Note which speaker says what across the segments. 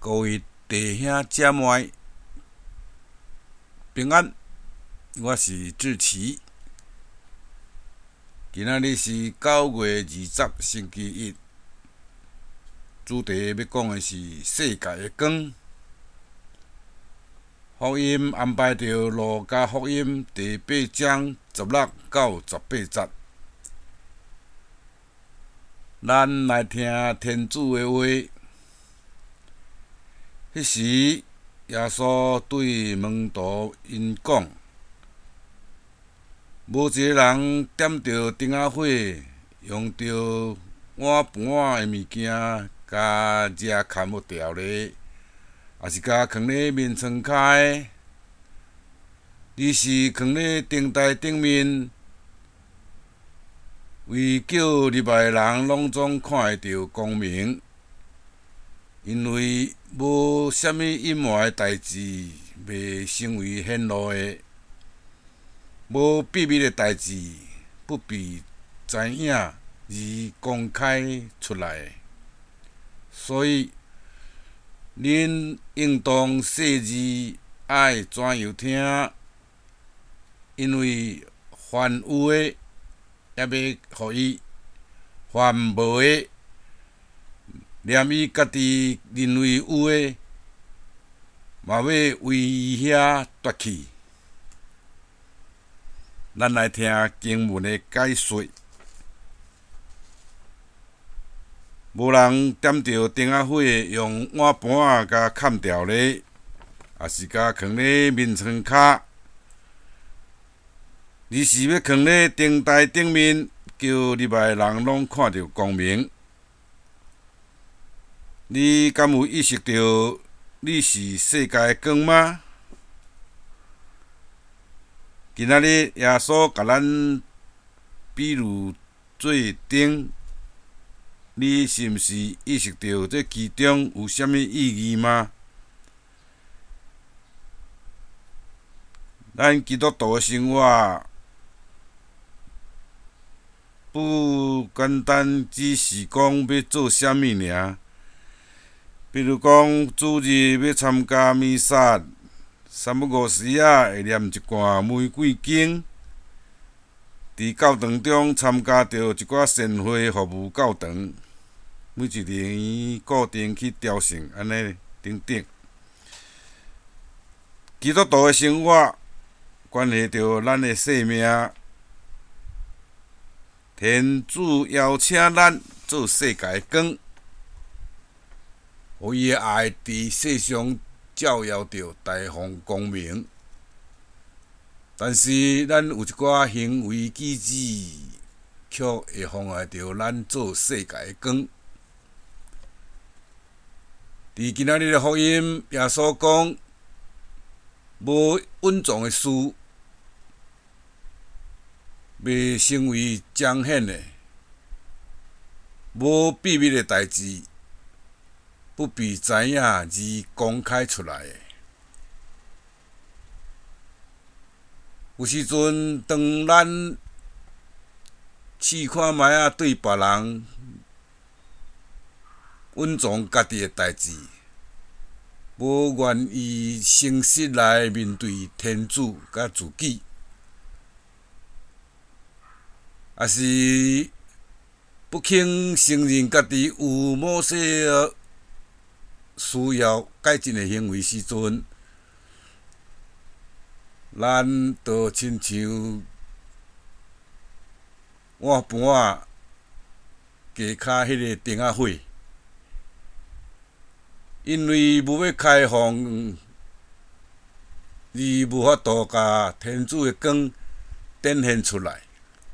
Speaker 1: 各位弟兄姐妹，平安，我是志奇。今仔日是9月20星期一，主題要講的是世界的光。福音安排着《路加福音》第8章16到18節，咱來聽天主的話。迄時，耶穌對門徒因講：無一個人點着燈仔火，用着碗盤的物件，甲遮牽無條咧，也是甲囥咧面床骹，而是囥咧燈台頂面，為叫入來的人攏總看會到光明。因為無啥物隱瞞的代誌袂成為顯露的，無秘密的代誌不被知影而公開出來。所以，恁應當細字愛怎樣聽，因為凡有的，也要互伊；凡無的，連伊家己認為有的，嘛要為伊遐奪去。咱來聽經文的解說。無人點着燈仔火，用碗盤甲牽條咧，也是甲囥咧面床骹，而是要囥咧燈台頂面，叫入來的人攏看到光明。你敢有意識到你是世界的光嗎？今仔日耶穌甲咱比喻做燈，你是毋是意識到這其中有啥物意義嗎？咱基督徒的生活不簡單只是講要做啥物爾。比如講，主日要參加彌撒，3不5時會念一段玫瑰經，佇教堂中參加着一寡善會服務教堂，每一年固定去朝聖，安尼等等。基督徒的生活關係着咱的生命，天主邀請咱做世界的光。互伊的愛佇世上照耀着大方光明，但是咱有一寡行為舉止，卻會妨礙着咱做世界的光。佇今仔日的福音，耶穌講：無穩重的事，袂成為彰顯的；無秘密的代誌，不被知影而公開出來的。有時陣，當咱試看覓仔對別人穩重家己的代誌，無願意誠實來面對天主甲自己，也是不肯承認家己有某些需要改進的行為時陣，咱就親像碗盤架骹迄個燈仔火，因為無要開放，而無法度甲天主的光展現出來。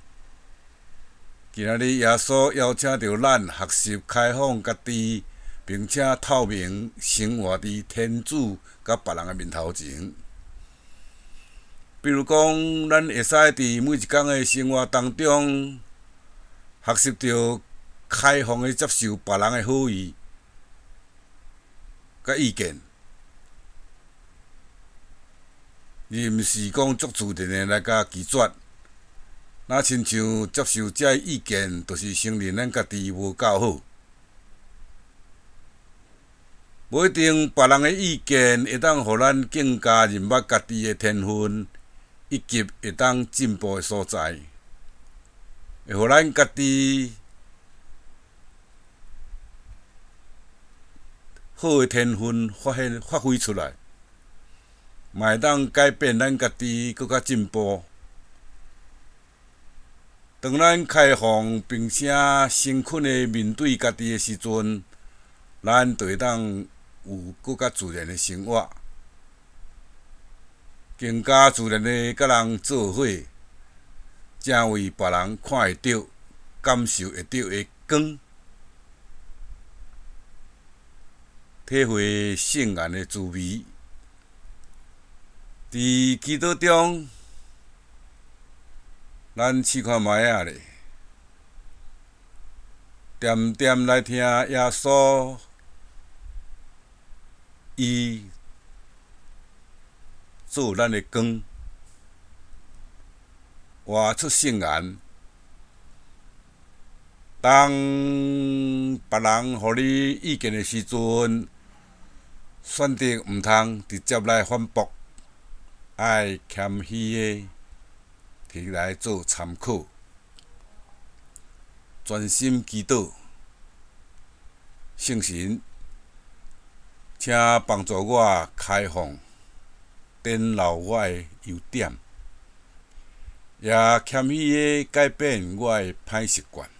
Speaker 1: 今仔日耶穌邀請着咱學習開放家己，並且透明生活佇天主甲別人的面頭前。比如講，咱會使佇每一天的生活當中，學習着開放的接受別人的好意甲意見，而毋是講足自然的來甲拒絕。若親像接受這意見，就是承認咱家己無夠好。 無一定別人的意見會當互咱更加認捌家己的天分，以及會當進步的所在，會互咱家己好的天分發揮出來，嘛會當改變咱家己更較進步。當咱開放並且誠懇的面對家己的時陣，咱就會當有更較自然的生活，更加自然的甲人做伙，正為別人看會到、感受會到的光，體會聖言的滋味。佇祈禱中，咱試看覓仔咧，恬恬來聽耶穌伊做咱的光，活出聖言。當別人互你意見的時陣，選擇毋通直接來反駁，愛謙虛的摕來做參考，專心祈禱。聖神，請幫助我開放，展露我的優點，也謙虛的改變我的歹習慣。